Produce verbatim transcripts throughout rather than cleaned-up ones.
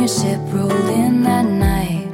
your ship rolled in that night.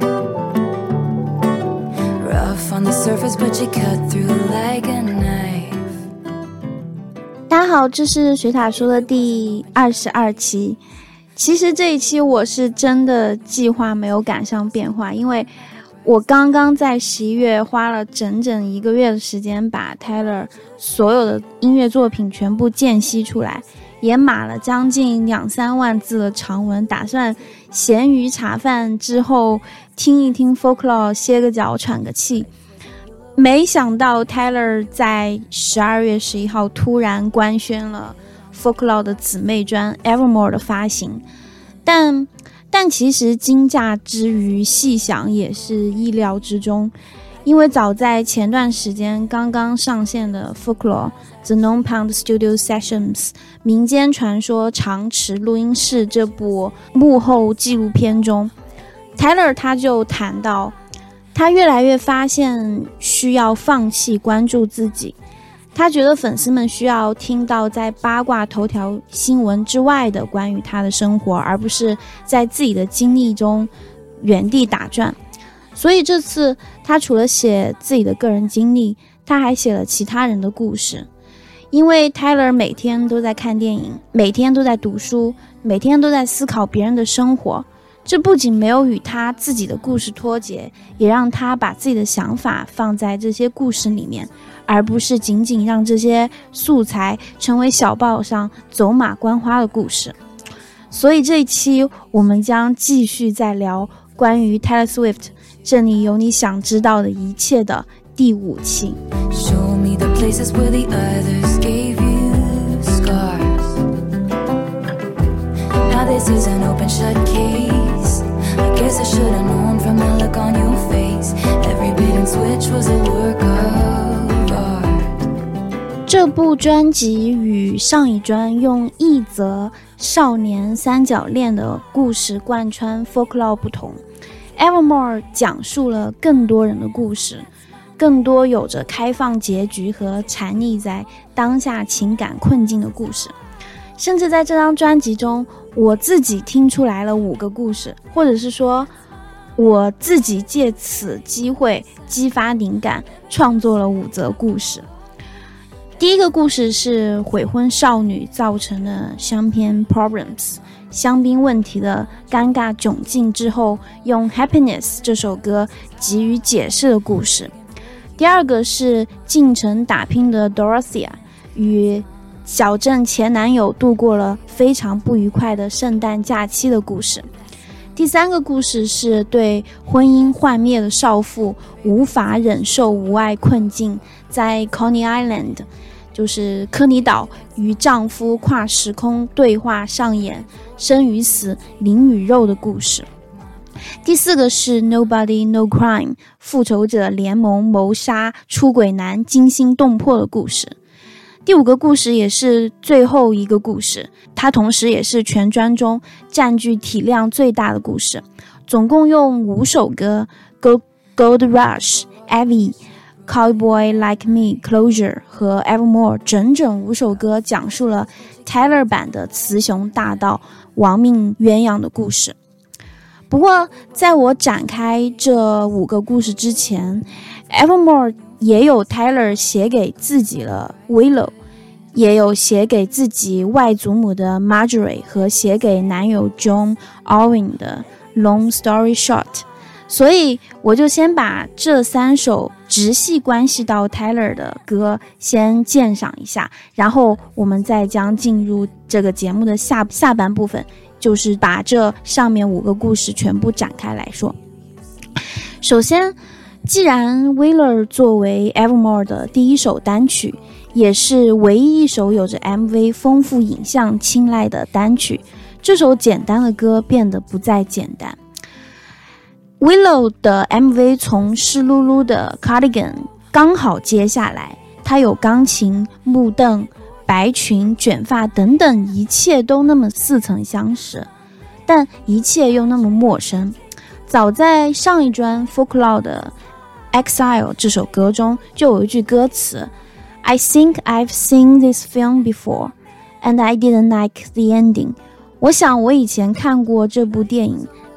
Rough on the surface, but you cut through like a knife. 大家好，这是水塔说的第二十二期。其实这一期我是真的计划没有赶上变化，因为我刚刚在十一月花了整整一个月的时间把 Tyler 所有的音乐作品全部间隙出来，也码了将近两三万字的长文，打算闲鱼茶饭之后听一听 Folklore， 歇个脚喘个气。没想到 Tyler 在十二月十一号突然官宣了 Folklore 的姊妹专 Evermore 的发行，但但其实惊讶之余细想也是意料之中，因为早在前段时间刚刚上线的 Folklore The Non Pound Studio Sessions 民间传说长池录音室这部幕后纪录片中， Tyler 他就谈到他越来越发现需要放弃关注自己，他觉得粉丝们需要听到在八卦头条新闻之外的关于他的生活，而不是在自己的经历中原地打转。所以这次他除了写自己的个人经历，他还写了其他人的故事。因为 Tyler 每天都在看电影，每天都在读书，每天都在思考别人的生活，这不仅没有与他自己的故事脱节，也让他把自己的想法放在这些故事里面，而不是仅仅让这些素材成为小报上走马观花的故事。所以这一期我们将继续再聊关于 Taylor Swift 这里有你想知道的一切的第五期。 Show me the places where the others gave you scars. Now this is an open shut case. I guess I should have known from the look on your face. Every bait and switch was a work of art. 这部专辑与上一专用一则少年三角恋的故事贯穿 Folklore 不同， Evermore 讲述了更多人的故事，更多有着开放结局和沉溺在当下情感困境的故事。甚至在这张专辑中，我自己听出来了五个故事，或者是说我自己借此机会激发灵感，创作了五则故事。第一个故事是悔婚少女造成的香槟 problems 香槟问题的尴尬窘境之后，用 Happiness 这首歌给予解释的故事。第二个是进城打拼的 Dorothea 与小镇前男友度过了非常不愉快的圣诞假期的故事。第三个故事是对婚姻幻灭的少妇无法忍受无爱困境，在 Coney Island 就是科尼岛与丈夫跨时空对话上演生与死灵与肉的故事。第四个是 Nobody No Crime 复仇者联盟谋杀出轨男惊心动魄的故事。第五个故事也是最后一个故事，它同时也是全专中占据体量最大的故事，总共用五首歌 Gold Rush, Evie, Cowboy Like Me, Closure 和 Evermore 整整五首歌讲述了 Tyler 版的雌雄大盗亡命鸳鸯的故事。不过在我展开这五个故事之前， Evermore 也有 Tyler 写给自己的 Willow， 也有写给自己外祖母的 Marjorie 和写给男友 John Owen 的 Long Story Short， 所以我就先把这三首直系关系到 Tyler 的歌先鉴赏一下，然后我们再将进入这个节目的下下半部分，就是把这上面五个故事全部展开来说。首先，既然 Wheeler 作为 Evermore 的第一首单曲，也是唯一一首有着 M V 丰富影像青睐的单曲，这首简单的歌变得不再简单。Willow 的 M V 从湿漉漉的 Cardigan 刚好接下来，它有钢琴、木凳、白裙、卷发等等，一切都那么似曾相识，但一切又那么陌生。早在上一专 Folklore 的 Exile 这首歌中就有一句歌词 I think I've seen this film before and I didn't like the ending。 我想我以前看过这部电影，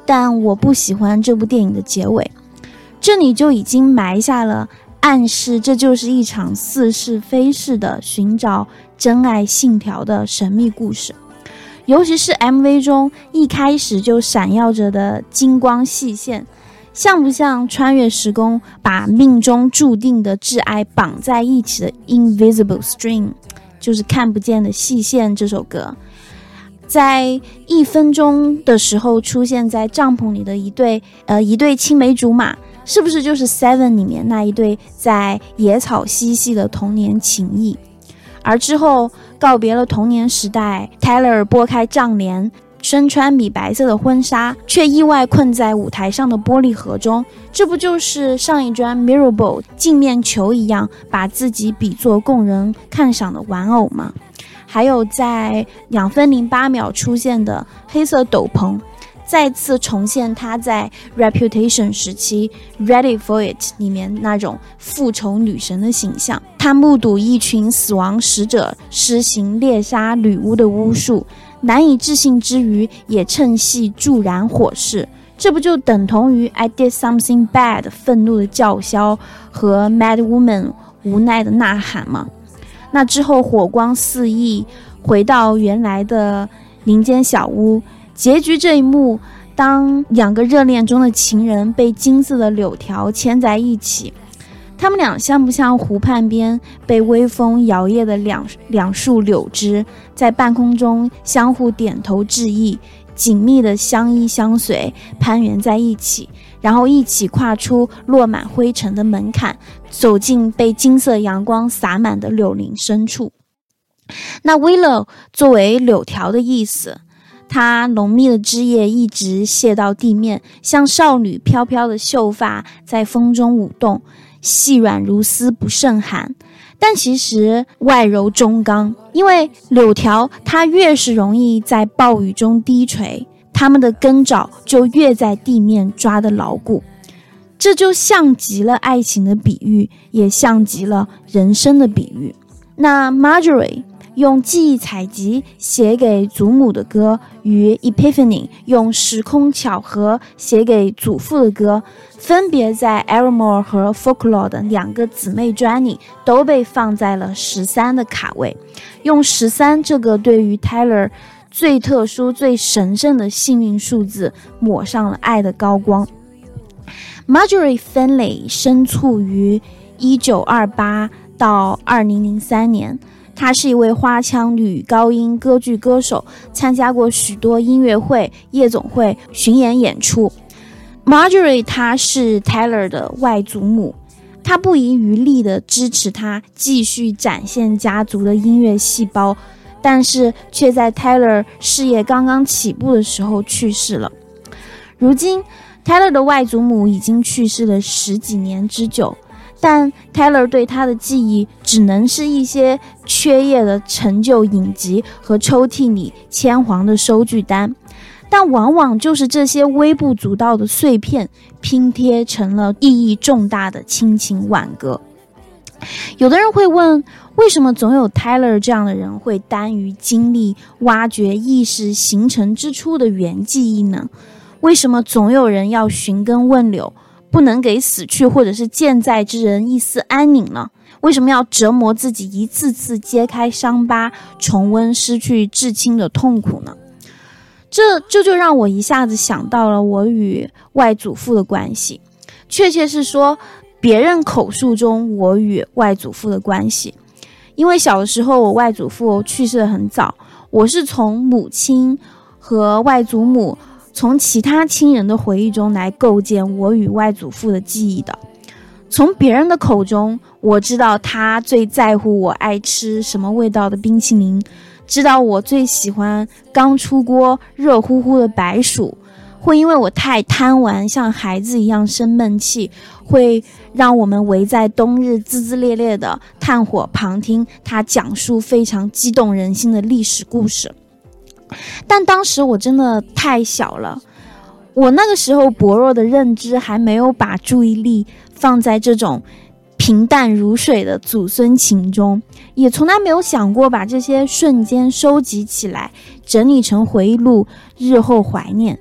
但我不喜欢这部电影的结尾，这里就已经埋下了暗示，这就是一场似是非是的寻找真爱信条的神秘故事。尤其是 M V 中一开始就闪耀着的金光细线，像不像穿越时空把命中注定的挚爱绑在一起的 Invisible String， 就是看不见的细线这首歌。在一分钟的时候出现在帐篷里的一对呃一对青梅竹马，是不是就是 Seven 里面那一对在野草嬉戏的童年情谊？而之后告别了童年时代， Tyler 拨开帐帘，身穿米白色的婚纱，却意外困在舞台上的玻璃盒中，这不就是上一专 Mirrorball 镜面球一样把自己比作供人看赏的玩偶吗？还有在两分零八秒出现的黑色斗篷，再次重现他在 Reputation 时期 Ready for It 里面那种复仇女神的形象。他目睹一群死亡使者施行猎杀女巫的巫术，难以置信之余也趁隙助燃火势，这不就等同于 I did something bad 愤怒的叫嚣和 Mad Woman 无奈的呐喊吗？那之后火光四溢，回到原来的林间小屋，结局这一幕，当两个热恋中的情人被金色的柳条牵在一起，他们俩像不像湖畔边被微风摇曳的两两束柳枝，在半空中相互点头致意，紧密的相依相随，攀援在一起，然后一起跨出落满灰尘的门槛，走进被金色阳光洒满的柳林深处。那 Willow 作为柳条的意思，它浓密的枝叶一直泻到地面，像少女飘飘的秀发在风中舞动，细软如丝，不胜寒，但其实外柔中刚，因为柳条它越是容易在暴雨中低垂，它们的根爪就越在地面抓得牢固。这就像极了爱情的比喻，也像极了人生的比喻。那 Marjorie 用记忆采集写给祖母的歌，与 Epiphany 用时空巧合写给祖父的歌，分别在 Evermore 和 Folklore 的两个姊妹专里都被放在了十三的卡位，用十三这个对于 Tyler 最特殊最神圣的幸运数字抹上了爱的高光。Marjorie Finley 生卒于一九二八到二零零三年，她是一位花腔女高音歌剧歌手，参加过许多音乐会、夜总会、巡演演出。Marjorie 她是 Tyler 的外祖母，她不遗余力地支持他继续展现家族的音乐细胞，但是却在 Tyler 事业刚刚起步的时候去世了。如今 Tyler 的外祖母已经去世了十几年之久，但 Tyler 对他的记忆只能是一些缺页的陈旧影集和抽屉里铅黄的收据单，但往往就是这些微不足道的碎片拼贴成了意义重大的亲情挽歌。有的人会问，为什么总有 Tyler 这样的人会耽于经历挖掘意识形成之初的原记忆呢？为什么总有人要寻根问柳，不能给死去或者是健在之人一丝安宁呢？为什么要折磨自己，一次次揭开伤疤，重温失去至亲的痛苦呢？这这就让我一下子想到了我与外祖父的关系，确切是说别人口述中我与外祖父的关系。因为小的时候我外祖父去世得很早，我是从母亲和外祖母从其他亲人的回忆中来构建我与外祖父的记忆的。从别人的口中，我知道他最在乎我爱吃什么味道的冰淇淋，知道我最喜欢刚出锅热乎乎的白薯，会因为我太贪玩像孩子一样生闷气，会让我们围在冬日滋滋烈烈的炭火旁听他讲述非常激动人心的历史故事。但当时我真的太小了，我那个时候薄弱的认知还没有把注意力放在这种平淡如水的祖孙情中，也从来没有想过把这些瞬间收集起来整理成回忆录日后怀念，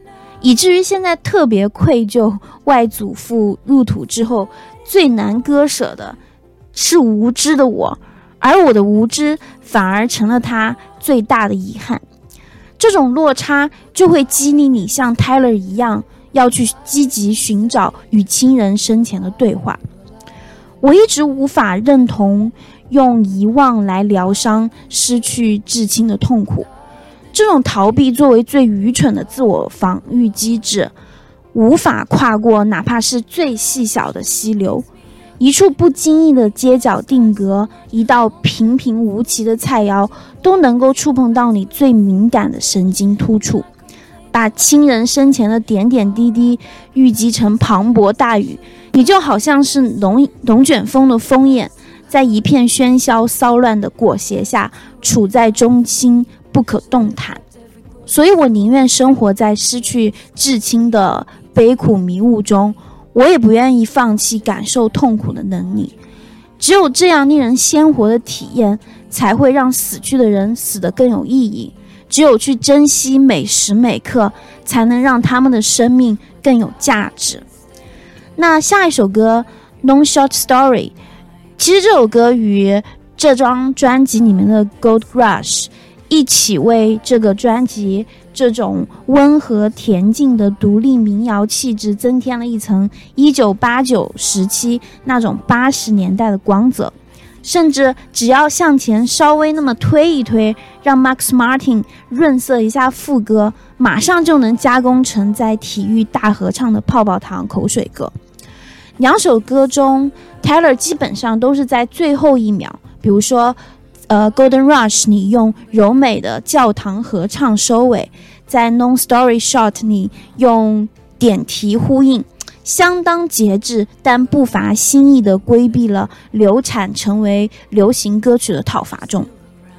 以至于现在特别愧疚外祖父入土之后最难割舍的是无知的我，而我的无知反而成了他最大的遗憾。这种落差就会激励你像 Tyler 一样，要去积极寻找与亲人生前的对话。我一直无法认同用遗忘来疗伤失去至亲的痛苦，这种逃避作为最愚蠢的自我防御机制，无法跨过哪怕是最细小的溪流。一处不经意的街角定格，一道平平无奇的菜肴，都能够触碰到你最敏感的神经突触，把亲人生前的点点滴滴郁积成磅礴大雨。你就好像是龙龙卷风的枫叶，在一片喧嚣骚乱的裹挟下，处在中心不可动弹。所以我宁愿生活在失去至亲的悲苦迷雾中，我也不愿意放弃感受痛苦的能力。只有这样令人鲜活的体验，才会让死去的人死得更有意义。只有去珍惜每时每刻，才能让他们的生命更有价值。那下一首歌 No Short Story， 其实这首歌与这张专辑里面的 Gold Rush 一起为这个专辑这种温和恬静的独立民谣气质增添了一层一九八九时期那种八十年代的光泽。甚至只要向前稍微那么推一推，让 Max Martin 润色一下副歌，马上就能加工成在体育大合唱的泡泡糖口水歌。两首歌中 Tyler 基本上都是在最后一秒，比如说呃 Golden Rush 你用柔美的教堂合唱收尾，在 Non Story Short 你用点题呼应，相当节制但不乏新意地规避了流产成为流行歌曲的讨伐中。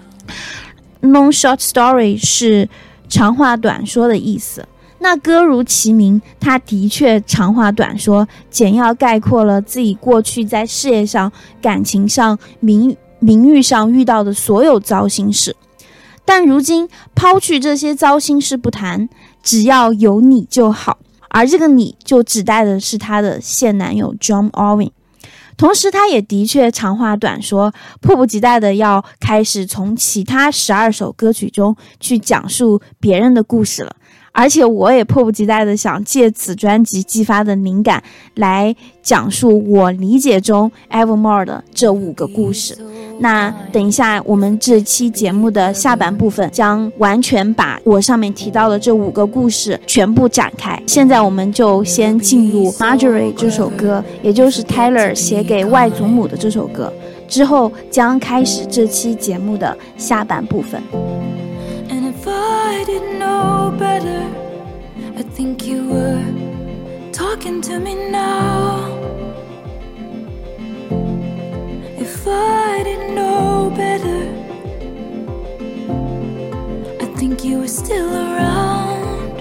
Non Short Story 是长话短说的意思，那歌如其名，它的确长话短说，简要概括了自己过去在事业上、感情上、名名誉上遇到的所有糟心事。但如今抛去这些糟心事不谈，只要有你就好，而这个你就指代的是他的现男友 John Irving。 同时他也的确长话短说，迫不及待的要开始从其他十二首歌曲中去讲述别人的故事了。而且我也迫不及待的想借此专辑激发的灵感来讲述我理解中 Evermore 的这五个故事。那等一下我们这期节目的下半部分将完全把我上面提到的这五个故事全部展开。现在我们就先进入 Marjorie 这首歌，也就是 Tyler 写给外祖母的这首歌，之后将开始这期节目的下半部分。 If I didn't know better, I think you were talking to me now. If I didn't know better, I think you were still around.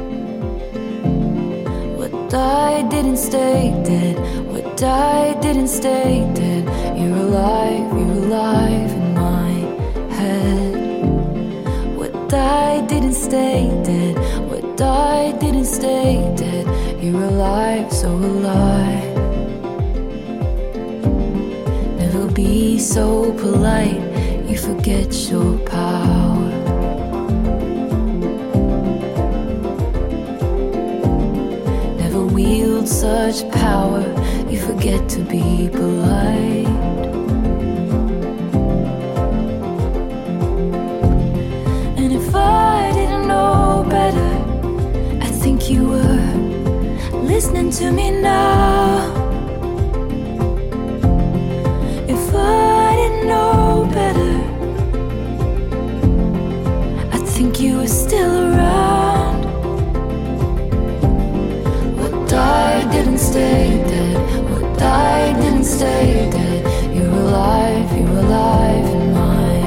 What died didn't stay dead, what died didn't stay dead. You're alive, you're alive in my head.What died didn't stay dead, what died didn't stay dead. You're alive, so alive. Never be so polite, you forget your power. Never wield such power, you forget to be polite.If I didn't know better, I think you were listening to me now. If I didn't know better, I think you were still around. What died didn't stay dead, what died didn't stay dead. You're alive, you're alive in my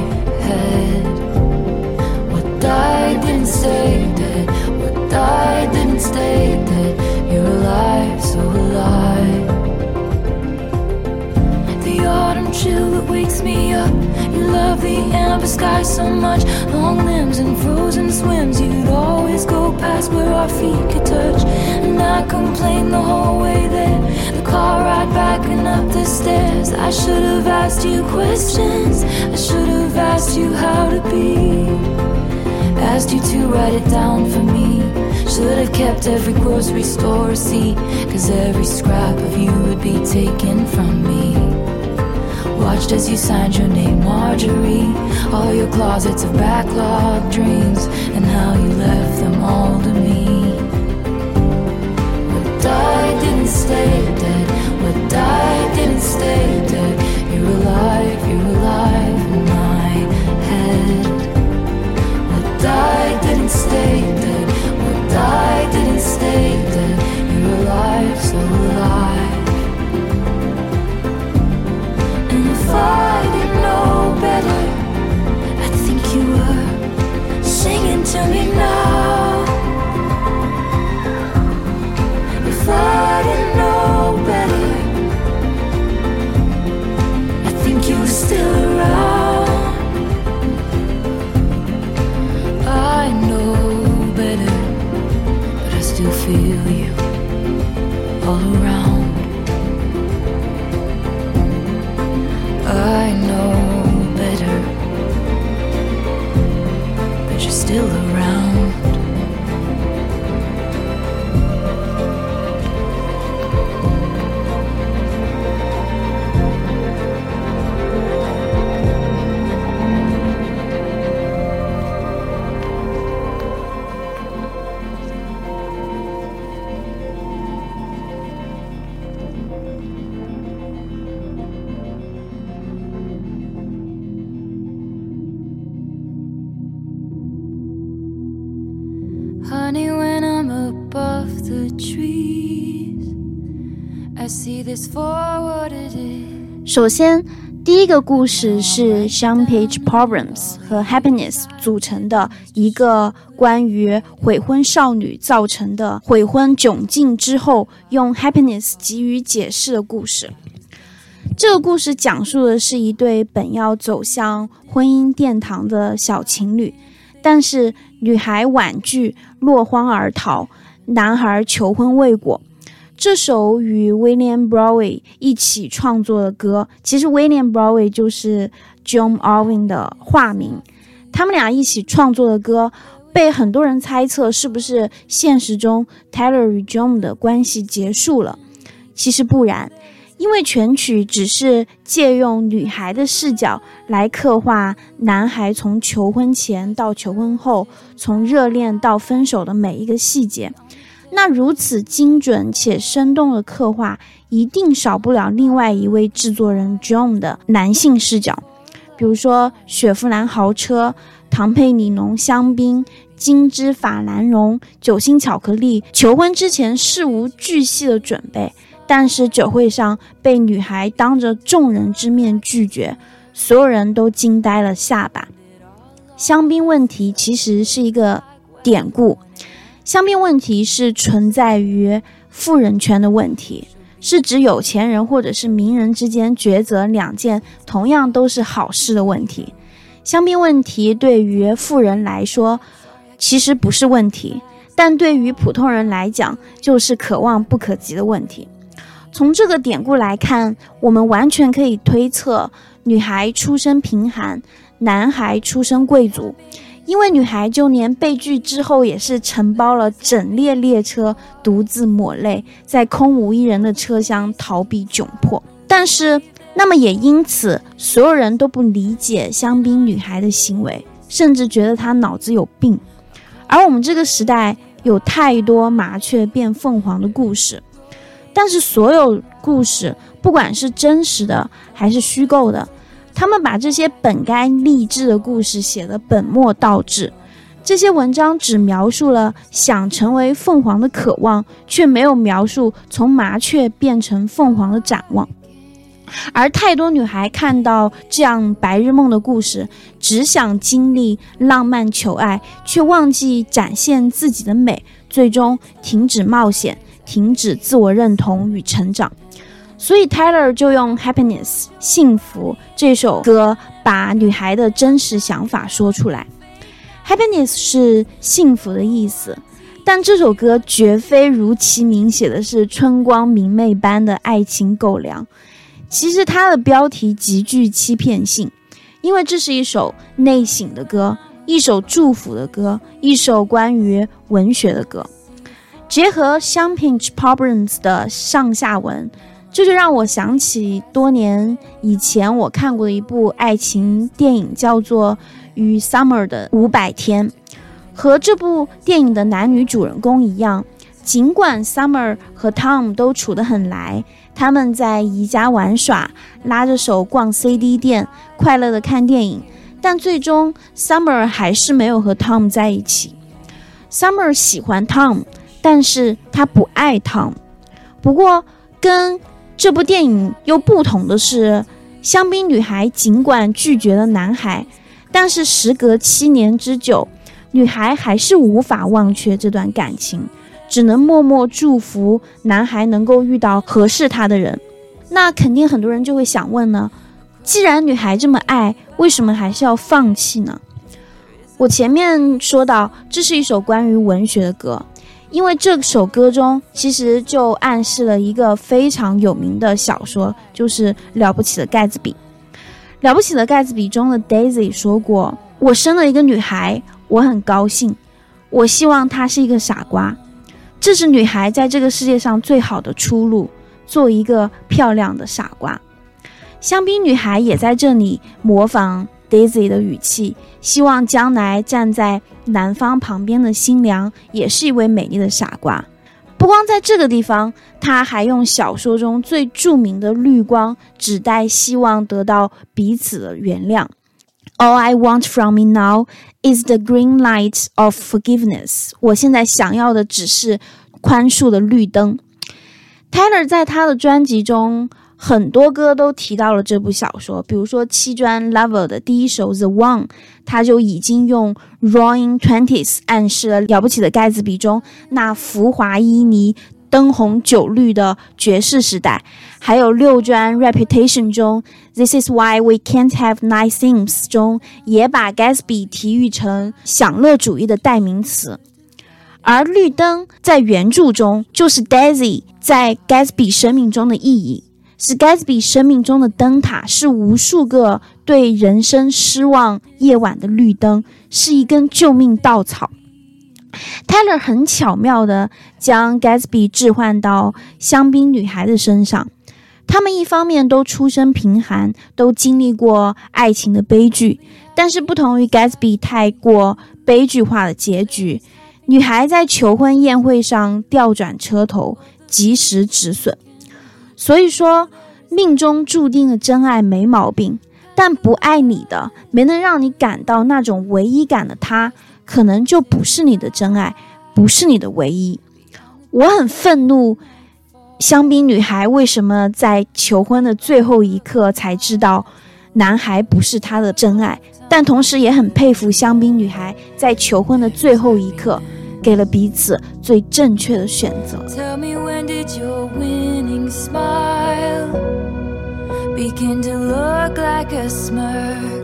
head.What died didn't stay dead, what died didn't stay dead. You're alive, so alive. The autumn chill that wakes me up, you love the up the sky so much. Long limbs and frozen swims, you'd always go past where our feet could touch. And I complained the whole way there, the car ride back and up the stairs. I should have asked you questions, I should have asked you how to be, asked you to write it down for me. Should have kept every grocery store receipt, cause every scrap of you would be taken from me. Watched as you signed your name, Marjorie, all your closets of backlog dreams, and how you left them all to me. What died didn't stay dead, what died didn't stay dead. You're alive, you're alive in my head. What died didn't stay dead, what died didn't stay dead. You're alive, so alive. And if I didn't know better, I think you were singing to me now. If I didn't know better, I think you were still around. I know better, but I still feel you all around. I know better, but you're still around. Honey, when I'm above the trees, I see this for what it is. 首先，第一个故事是 Sean-Page Problems 和 Happiness 组成的一个关于悔婚少女造成的悔婚窘境之后用 Happiness 给予解释的故事。这个故事讲述的是一对本要走向婚姻殿堂的小情侣，但是女孩婉拒，落荒而逃，男孩求婚未果。这首与 William Bowery 一起创作的歌，其实 William Bowery 就是 John Irving 的化名，他们俩一起创作的歌被很多人猜测是不是现实中 Taylor 与 John 的关系结束了。其实不然，因为全曲只是借用女孩的视角来刻画男孩从求婚前到求婚后，从热恋到分手的每一个细节，那如此精准且生动的刻画，一定少不了另外一位制作人 John 的男性视角，比如说雪佛兰豪车、唐佩里浓香槟、金枝法兰绒、酒心巧克力，求婚之前事无巨细的准备，但是酒会上被女孩当着众人之面拒绝，所有人都惊呆了下巴。香槟问题其实是一个典故，香槟问题是存在于富人圈的问题，是指有钱人或者是名人之间抉择两件同样都是好事的问题。香槟问题对于富人来说其实不是问题，但对于普通人来讲就是可望不可及的问题。从这个典故来看，我们完全可以推测女孩出身贫寒，男孩出身贵族，因为女孩就连被拒之后也是承包了整列列车，独自抹泪，在空无一人的车厢逃避窘迫。但是那么也因此所有人都不理解香槟女孩的行为，甚至觉得她脑子有病。而我们这个时代有太多麻雀变凤凰的故事，但是所有故事不管是真实的还是虚构的，他们把这些本该励志的故事写得本末倒置。这些文章只描述了想成为凤凰的渴望，却没有描述从麻雀变成凤凰的展望。而太多女孩看到这样白日梦的故事，只想经历浪漫求爱，却忘记展现自己的美，最终停止冒险，停止自我认同与成长。所以 Taylor 就用 Happiness 幸福这首歌把女孩的真实想法说出来。 Happiness 是幸福的意思，但这首歌绝非如其名写的是春光明媚般的爱情狗粮。其实它的标题极具欺骗性，因为这是一首内省的歌，一首祝福的歌，一首关于文学的歌。结合 Champagne Problems 的上下文，这就让我想起多年以前我看过的一部爱情电影，叫做与 Summer 的五百天。和这部电影的男女主人公一样，尽管 Summer 和 Tom 都处得很来，他们在宜家玩耍，拉着手逛 C D 店，快乐地看电影，但最终 Summer 还是没有和 Tom 在一起。 Summer 喜欢 Tom， 但是他不爱 Tom。 不过跟这部电影又不同的是，香槟女孩尽管拒绝了男孩，但是时隔七年之久，女孩还是无法忘却这段感情，只能默默祝福男孩能够遇到合适他的人。那肯定很多人就会想问呢，既然女孩这么爱，为什么还是要放弃呢？我前面说到，这是一首关于文学的歌，因为这首歌中其实就暗示了一个非常有名的小说，就是《了不起的盖茨比》。《了不起的盖茨比》中的 Daisy 说过，我生了一个女孩，我很高兴，我希望她是一个傻瓜，这是女孩在这个世界上最好的出路，做一个漂亮的傻瓜。香槟女孩也在这里模仿 Daisy 的语气，希望将来站在男方旁边的新娘也是一位美丽的傻瓜。不光在这个地方，她还用小说中最著名的绿光指代希望得到彼此的原谅。 All I want from me now is the green light of forgiveness。 我现在想要的只是宽恕的绿灯。 Tyler 在他的专辑中很多歌都提到了这部小说，比如说七专 Lover 的第一首 The One， 他就已经用 Roaring Twenties 暗示了了不起的盖茨比中那浮华旖旎灯红酒绿的爵士时代。还有六专 Reputation 中 This is why we can't have nice things 中也把 Gatsby 提喻成享乐主义的代名词。而绿灯在原著中就是 Daisy 在 Gatsby 生命中的意义，是 Gatsby 生命中的灯塔，是无数个对人生失望夜晚的绿灯，是一根救命稻草。Tyler 很巧妙地将 Gatsby 置换到香槟女孩的身上，他们一方面都出身贫寒，都经历过爱情的悲剧，但是不同于 Gatsby 太过悲剧化的结局，女孩在求婚宴会上调转车头，及时止损。所以说命中注定的真爱没毛病，但不爱你的，没能让你感到那种唯一感的他，可能就不是你的真爱，不是你的唯一。我很愤怒香槟女孩为什么在求婚的最后一刻才知道男孩不是她的真爱，但同时也很佩服香槟女孩在求婚的最后一刻给了彼此最正确的选择。 Tell me, when did your winning smile begin to look like a smirk?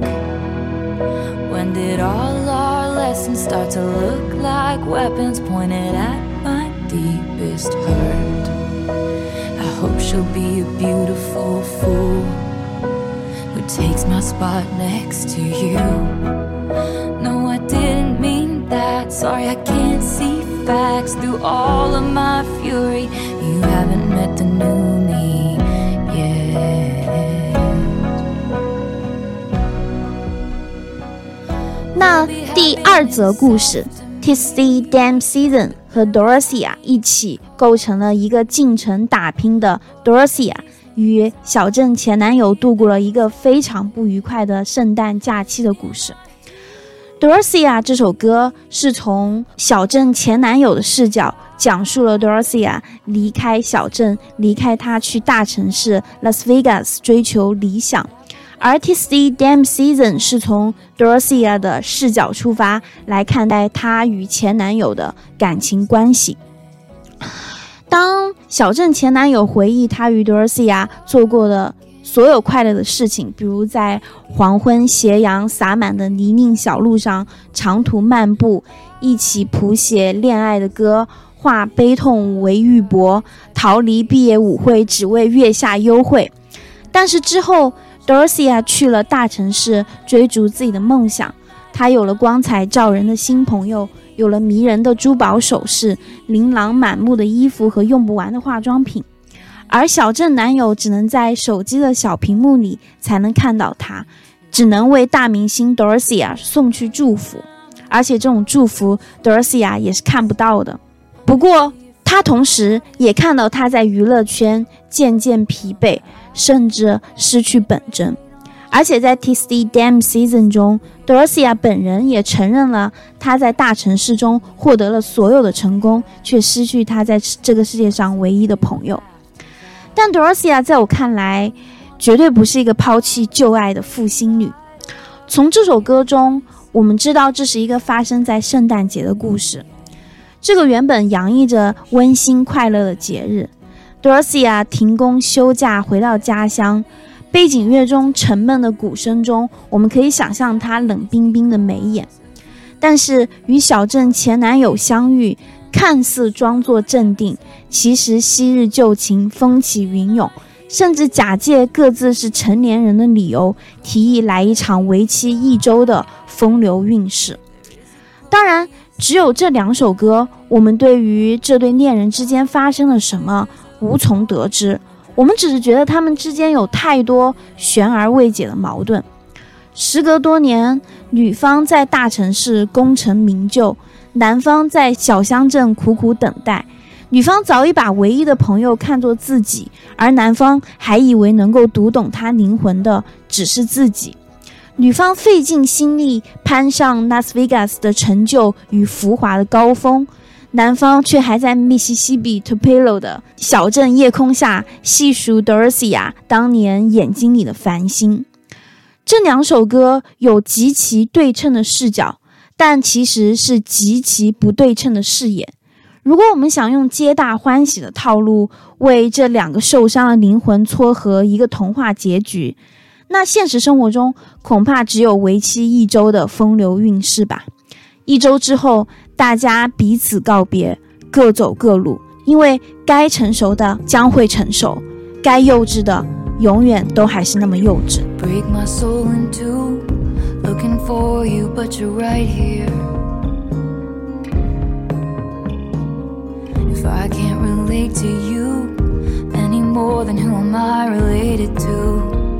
When did all our lessons start to look like weapons pointed at my deepest hurt? I hope she'll be a beautiful fool who takes my spot next to you. No, I didn't mean that. Sorry, I can't see facts through all of my fury. You haven't met the new me yet. 那第二则故事 Tisty Dame Season 和 Dorothea 一起构成了一个进城打拼的 Dorothea 与小镇前男友度过了一个非常不愉快的圣诞假期的故事。Dorothea 这首歌是从小镇前男友的视角讲述了 Dorothea 离开小镇，离开她去大城市 Las Vegas 追求理想，而 Tisty Dame Season 是从 Dorothea 的视角出发来看待她与前男友的感情关系。当小镇前男友回忆他与 Dorothea 做过的所有快乐的事情，比如在黄昏斜阳洒满的泥泞小路上长途漫步，一起谱写恋爱的歌，化悲痛为玉帛，逃离毕业舞会只为月下幽会。但是之后 Dorothea 去了大城市追逐自己的梦想，她有了光彩照人的新朋友，有了迷人的珠宝首饰，琳琅满目的衣服和用不完的化妆品。而小镇男友只能在手机的小屏幕里才能看到她，只能为大明星 Dorothea 送去祝福，而且这种祝福 Dorothea 也是看不到的。不过他同时也看到他在娱乐圈渐渐疲惫，甚至失去本真。而且在 Tisty Dam Season 中， Dorothea 本人也承认了他在大城市中获得了所有的成功，却失去他在这个世界上唯一的朋友。但 Dorothea 在我看来绝对不是一个抛弃旧爱的负心女。从这首歌中我们知道这是一个发生在圣诞节的故事，这个原本洋溢着温馨快乐的节日， Dorothea 停工休假回到家乡，背景乐中沉闷的鼓声中，我们可以想象她冷冰冰的眉眼。但是与小镇前男友相遇，看似装作镇定，其实昔日旧情风起云涌，甚至假借各自是成年人的理由，提议来一场为期一周的风流韵事。当然只有这两首歌，我们对于这对恋人之间发生了什么无从得知，我们只是觉得他们之间有太多悬而未解的矛盾。时隔多年，女方在大城市功成名就，男方在小乡镇苦苦等待。女方早已把唯一的朋友看作自己，而男方还以为能够读懂他灵魂的只是自己。女方费尽心力攀上 Las Vegas 的成就与浮华的高峰，男方却还在密西西比 Tupelo 的小镇夜空下细数 Dorothea 当年眼睛里的繁星。这两首歌有极其对称的视角，但其实是极其不对称的视野。如果我们想用皆大欢喜的套路为这两个受伤的灵魂撮合一个童话结局，那现实生活中恐怕只有为期一周的风流韵事吧。一周之后，大家彼此告别，各走各路，因为该成熟的将会成熟，该幼稚的永远都还是那么幼稚。 Break my soul in two, looking for you but you're right here. If I can't relate to you any more than who am I related to?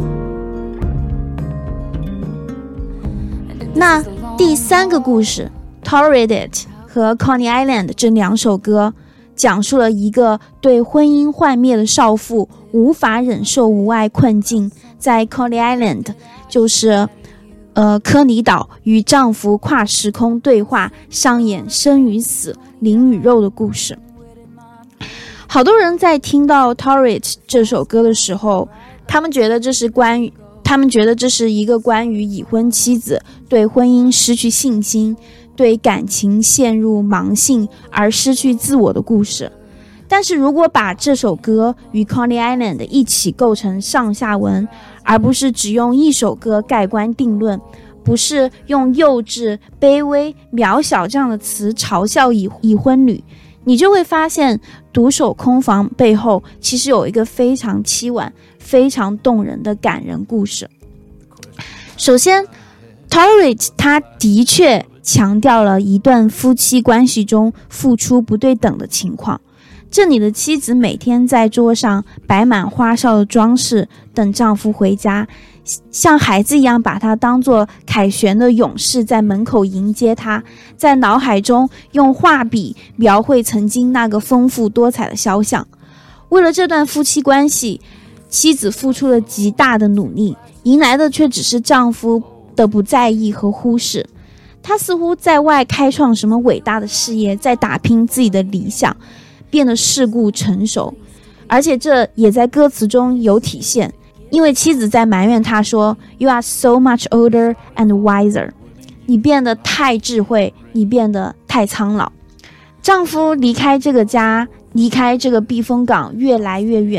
那第三个故事 Tolerated 和 Coney Island 这两首歌讲述了一个对婚姻幻灭的少妇无法忍受无爱困境，在 Coney Island 就是呃科尼岛与丈夫跨时空对话，上演生与死灵与肉的故事。好多人在听到 Tolerate 这首歌的时候，他们觉得这是关于他们觉得这是一个关于已婚妻子对婚姻失去信心，对感情陷入盲性而失去自我的故事。但是如果把这首歌与 Coney Island 一起构成上下文，而不是只用一首歌盖棺定论，不是用幼稚、卑微、渺小这样的词嘲笑已已婚女，你就会发现独守空房背后其实有一个非常凄婉、非常动人的感人故事。首先 Tolerate 他的确强调了一段夫妻关系中付出不对等的情况。这里的妻子每天在桌上摆满花哨的装饰，等丈夫回家，像孩子一样把他当作凯旋的勇士在门口迎接他，在脑海中用画笔描绘曾经那个丰富多彩的肖像。为了这段夫妻关系，妻子付出了极大的努力，迎来的却只是丈夫的不在意和忽视。她似乎在外开创什么伟大的事业，在打拼自己的理想，变得世故成熟，而且这也在歌词中有体现。因为妻子在埋怨他说 You are so much older and wiser， 你变得太智慧，你变得太苍老。丈夫离开这个家，离开这个避风港越来越远，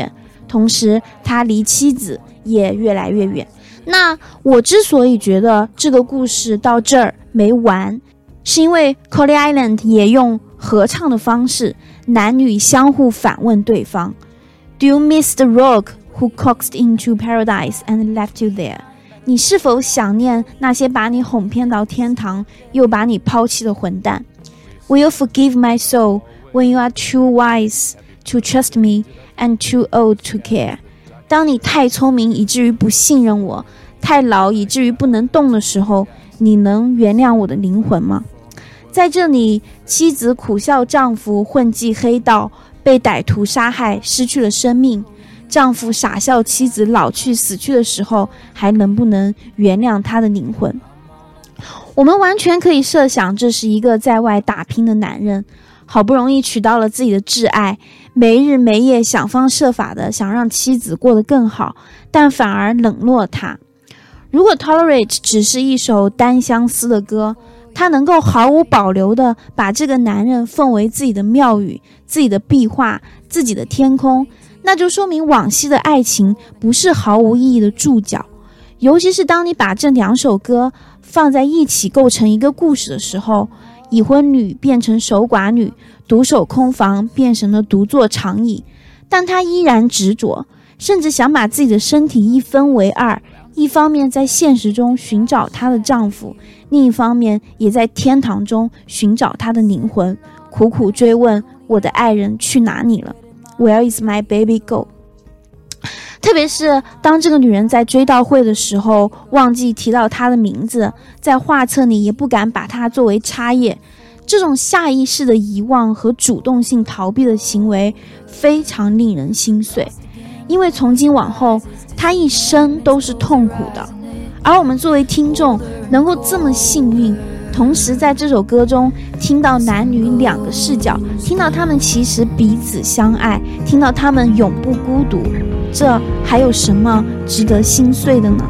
同时他离妻子也越来越远。那我之所以觉得这个故事到这儿没完，是因为 Coney Island 也用合唱的方式，男女相互反问对方 Do you miss the rogue who coaxed into paradise and left you there？ 你是否想念那些把你哄骗到天堂又把你抛弃的混蛋？ Will you forgive my soul when you are too wise to trust me and too old to care？ 当你太聪明以至于不信任我，太老以至于不能动的时候，你能原谅我的灵魂吗？在这里，妻子苦笑丈夫混迹黑道，被歹徒杀害，失去了生命。丈夫傻笑妻子老去死去的时候，还能不能原谅他的灵魂？我们完全可以设想，这是一个在外打拼的男人，好不容易娶到了自己的挚爱，没日没夜想方设法的想让妻子过得更好，但反而冷落他。如果 Tolerate 只是一首单相思的歌，他能够毫无保留地把这个男人奉为自己的庙宇、自己的壁画、自己的天空，那就说明往昔的爱情不是毫无意义的注脚。尤其是当你把这两首歌放在一起构成一个故事的时候，已婚女变成守寡女，独守空房变成了独坐长椅，但她依然执着，甚至想把自己的身体一分为二，一方面在现实中寻找她的丈夫，另一方面也在天堂中寻找她的灵魂，苦苦追问我的爱人去哪里了 Where is my baby go？ 特别是当这个女人在追悼会的时候忘记提到她的名字，在画册里也不敢把她作为插页，这种下意识的遗忘和主动性逃避的行为非常令人心碎，因为从今往后她一生都是痛苦的。而我们作为听众能够这么幸运，同时在这首歌中听到男女两个视角，听到他们其实彼此相爱，听到他们永不孤独，这还有什么值得心碎的呢？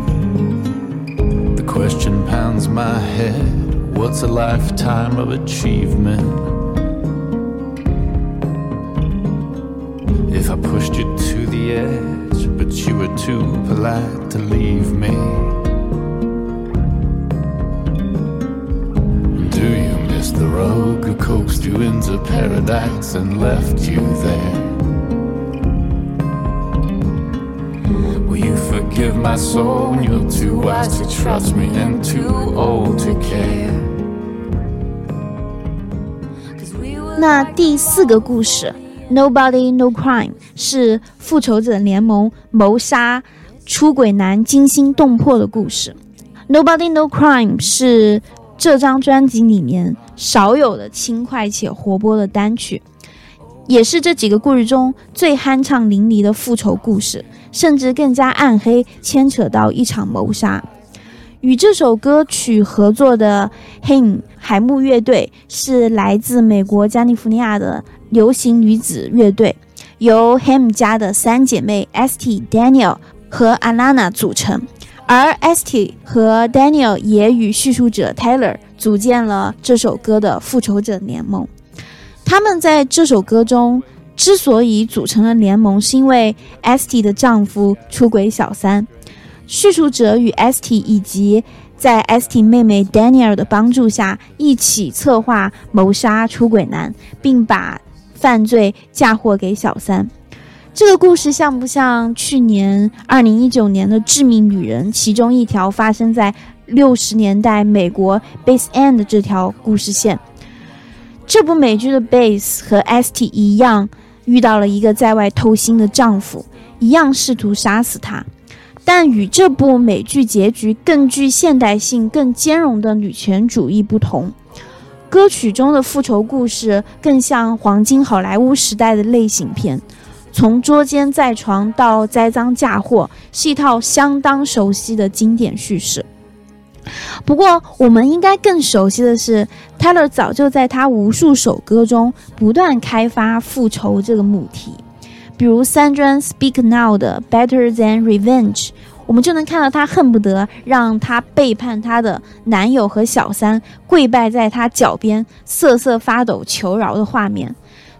The question pounds my head, what's a lifetime of achievement? If I pushed you to the edge, but you were too polite to leave me, do you miss the rogue who coaxed you into paradise and left you there? Will you forgive my soul when you're too wise to trust me and too old to care? 那第四个故事 Nobody No Crime 是复仇者联盟谋杀出轨男惊心动魄的故事。 Nobody No Crime 是这张专辑里面少有的轻快且活泼的单曲，也是这几个故事中最酣畅淋漓的复仇故事，甚至更加暗黑，牵扯到一场谋杀。与这首歌曲合作的 Haim 海木乐队是来自美国加利福尼亚的流行女子乐队，由 Haim 家的三姐妹 Esty、Daniel 和 Alana 组成，而 Esty 和 Daniel 也与叙述者 Taylor 组建了这首歌的复仇者联盟。他们在这首歌中之所以组成了联盟，是因为 Esty 的丈夫出轨小三，叙述者与 Esty 以及在 Esty 妹妹 Daniel 的帮助下一起策划谋杀出轨男，并把犯罪嫁祸给小三。这个故事像不像去年二零一九年的致命女人其中一条发生在六十年代美国 Base End 这条故事线？这部美剧的 Base 和 Esty 一样遇到了一个在外偷腥的丈夫，一样试图杀死他，但与这部美剧结局更具现代性、更兼容的女权主义不同，歌曲中的复仇故事更像黄金好莱坞时代的类型片，从捉奸在床到栽赃嫁祸，是一套相当熟悉的经典叙事。不过我们应该更熟悉的是 Taylor 早就在他无数首歌中不断开发复仇这个母题，比如三专 Speak Now 的 Better Than Revenge， 我们就能看到他恨不得让他背叛他的男友和小三跪拜在他脚边瑟瑟发抖求饶的画面。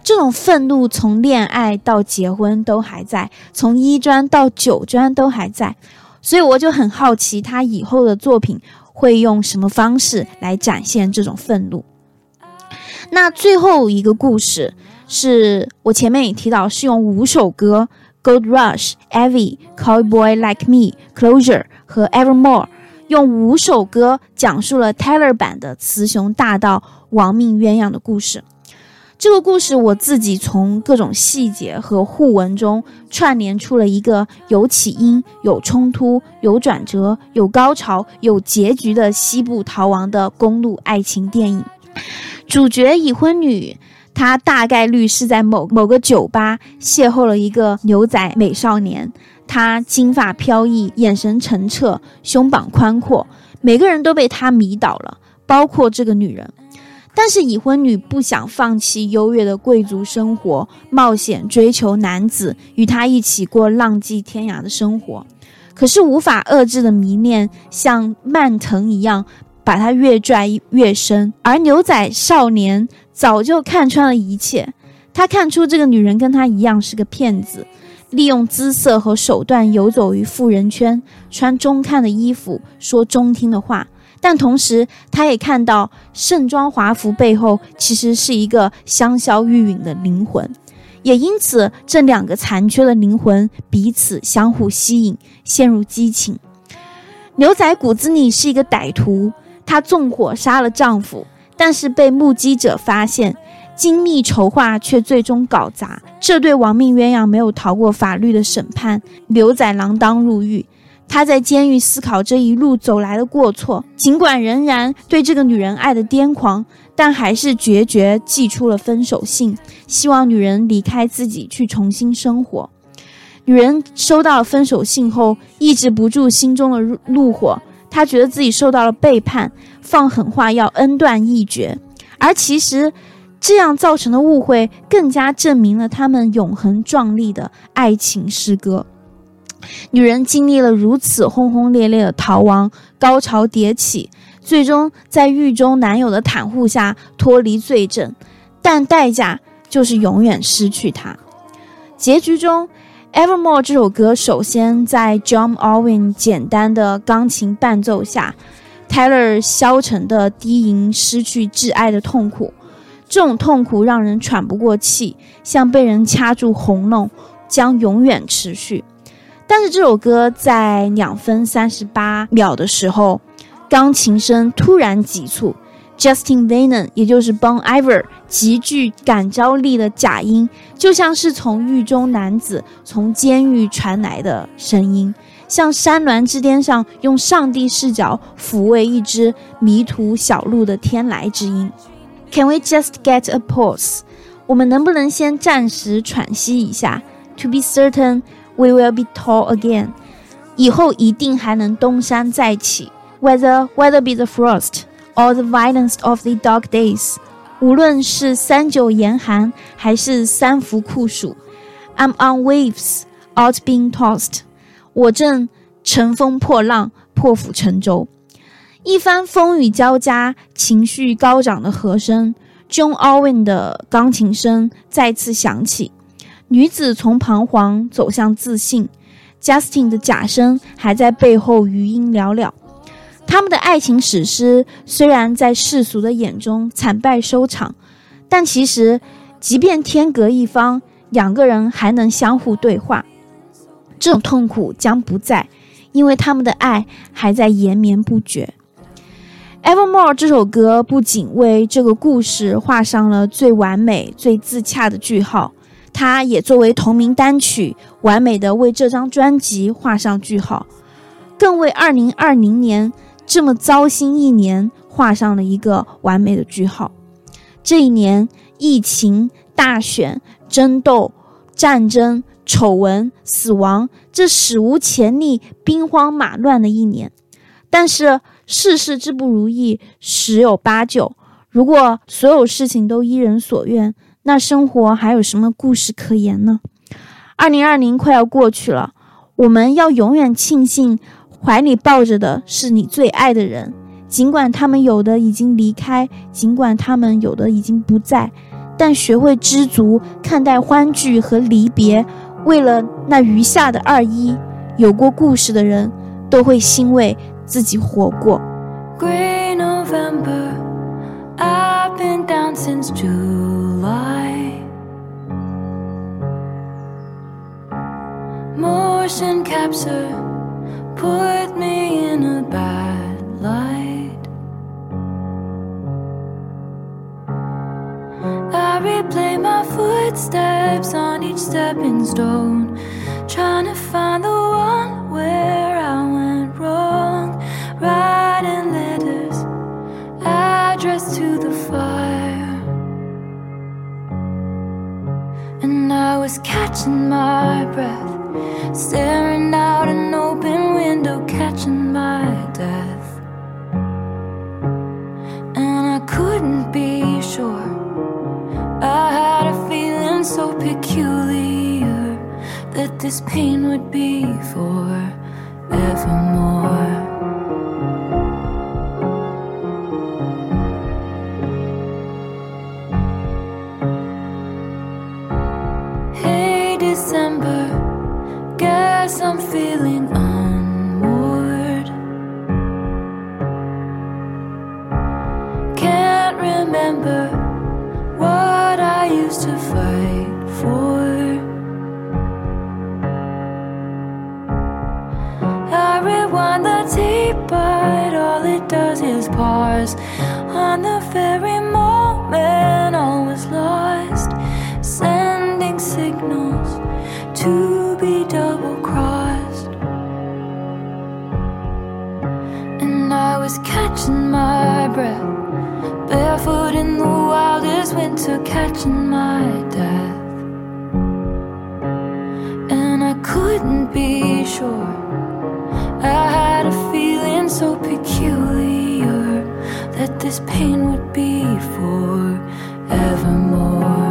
这种愤怒从恋爱到结婚都还在，从一专到九专都还在，所以我就很好奇他以后的作品会用什么方式来展现这种愤怒。那最后一个故事是我前面也提到，是用五首歌 Gold Rush、Evie、Cowboy Like Me、Closure 和 Evermore 用五首歌讲述了 Taylor 版的雌雄大盗亡命鸳鸯的故事。这个故事我自己从各种细节和互文中串联出了一个有起因、有冲突、有转折、有高潮、有结局的西部逃亡的公路爱情电影。主角已婚女，她大概率是在某某个酒吧邂逅了一个牛仔美少年，他金发飘逸，眼神澄澈，胸膀宽阔，每个人都被他迷倒了，包括这个女人。但是已婚女不想放弃优越的贵族生活，冒险追求男子，与他一起过浪迹天涯的生活。可是无法遏制的迷恋像蔓藤一样把他越拽越深，而牛仔少年早就看穿了一切，他看出这个女人跟他一样是个骗子，利用姿色和手段游走于富人圈，穿中看的衣服，说中听的话，但同时他也看到盛装华服背后其实是一个香消玉殒的灵魂，也因此这两个残缺的灵魂彼此相互吸引，陷入激情。牛仔骨子里是一个歹徒，她纵火杀了丈夫，但是被目击者发现，精密筹划却最终搞砸。这对亡命鸳鸯没有逃过法律的审判，牛仔锒铛入狱。他在监狱思考这一路走来的过错，尽管仍然对这个女人爱得癫狂，但还是决绝寄出了分手信，希望女人离开自己去重新生活。女人收到了分手信后，抑制不住心中的怒火，她觉得自己受到了背叛，放狠话要恩断义绝。而其实这样造成的误会更加证明了他们永恒壮丽的爱情诗歌。女人经历了如此轰轰烈烈的逃亡，高潮迭起，最终在狱中男友的袒护下脱离罪证，但代价就是永远失去他。结局中 Evermore 这首歌首先在 John Owen 简单的钢琴伴奏下， Taylor 消沉的低吟失去挚爱的痛苦，这种痛苦让人喘不过气，像被人掐住喉咙，将永远持续。但是这首歌在两分三十八秒的时候，钢琴声突然急促， Justin Vernon 也就是 Bon Iver 极具感召力的假音，就像是从狱中男子从监狱传来的声音，像山峦之巅上用上帝视角抚慰一只迷途小鹿的天籁之音。 Can we just get a pause？ 我们能不能先暂时喘息一下？ To be certain we will be tall again， 以后一定还能东山再起。 Whether, whether be the frost or the violence of the dark days， 无论是三九严寒还是三伏酷暑， I'm on waves out being tossed， 我正乘风破浪，破釜沉舟。一番风雨交加，情绪高涨的和声， John Owen 的钢琴声再次响起，女子从彷徨走向自信， Justin 的假声还在背后余音袅袅。他们的爱情史诗虽然在世俗的眼中惨败收场，但其实即便天隔一方，两个人还能相互对话。这种痛苦将不在，因为他们的爱还在延绵不绝。 Evermore 这首歌不仅为这个故事画上了最完美最自洽的句号，它也作为同名单曲完美的为这张专辑画上句号，更为二零二零年这么糟心一年画上了一个完美的句号。这一年，疫情、大选、争斗、战争、丑闻、死亡，这史无前例兵荒马乱的一年。但是世事之不如意十有八九，如果所有事情都依人所愿，那生活还有什么故事可言呢？二零二零快要过去了，我们要永远庆幸怀里抱着的是你最爱的人，尽管他们有的已经离开，尽管他们有的已经不在， 但学会知足看待欢聚和离别，为了那余下的二一，有过故事的人都会欣慰自己活过。 Gray November, I've been down since July. Motion capture put me in a bad light. I replay my footsteps on each stepping stone, trying to find the one where I went wrong. Writing letters addressed to the fire, and I was catching my breath, staring out an open window, catching my death. And I couldn't be sure, I had a feeling so peculiar that this pain would be forevermore. Hey December, guess I'm feeling unmoored. Can't remember what I used to fight for. I rewind the tape, but all it does is pause on the very moment all was lost, sending signals to be double-crossed. And I was catching my breath, barefoot in the wildest winter, catching my death. And I couldn't be sure, I had a feeling so peculiar that this pain would be forevermore.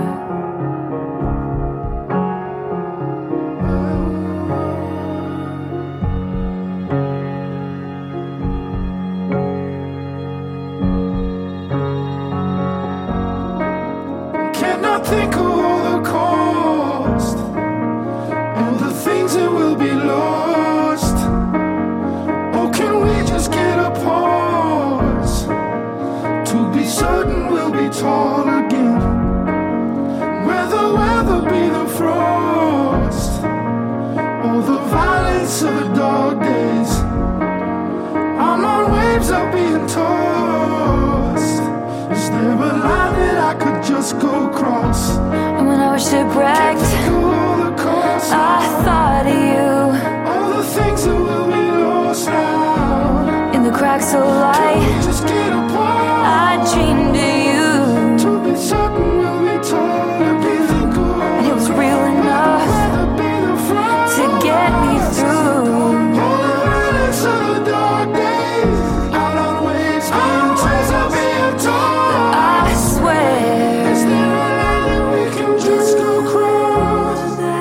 Think of all the cost, all the things that will be lost. Or can we just get a pause to be certain we'll be tall again? Where the weather be the frost, or the violence of the dog days. I'm on waves of being tossed. Is there a line that I could just go cross? And when I was shipwrecked, I thought of you. All the things that will be lost now. In the cracks of light, Just get apart. I dreamed of you, To be certain we'll be told to be thinking. and it was real enough to get me through. All the violence of the dark days. Out on waves, being tossed of being torn. I swear, Is there a line that we can just go cross?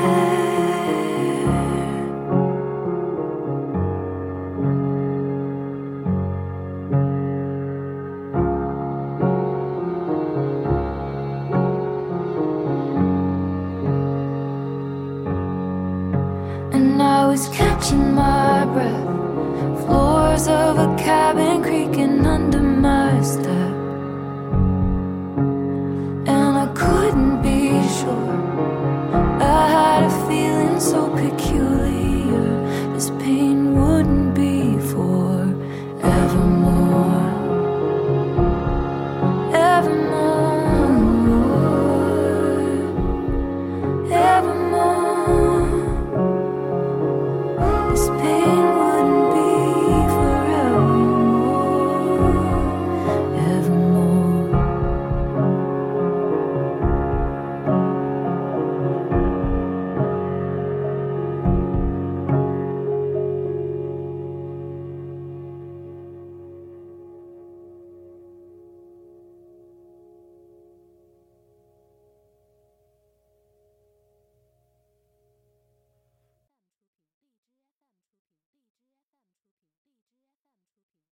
and I was catching my breath, floors of a cabin creaking under my step. And I couldn't be sure, I had a feeling so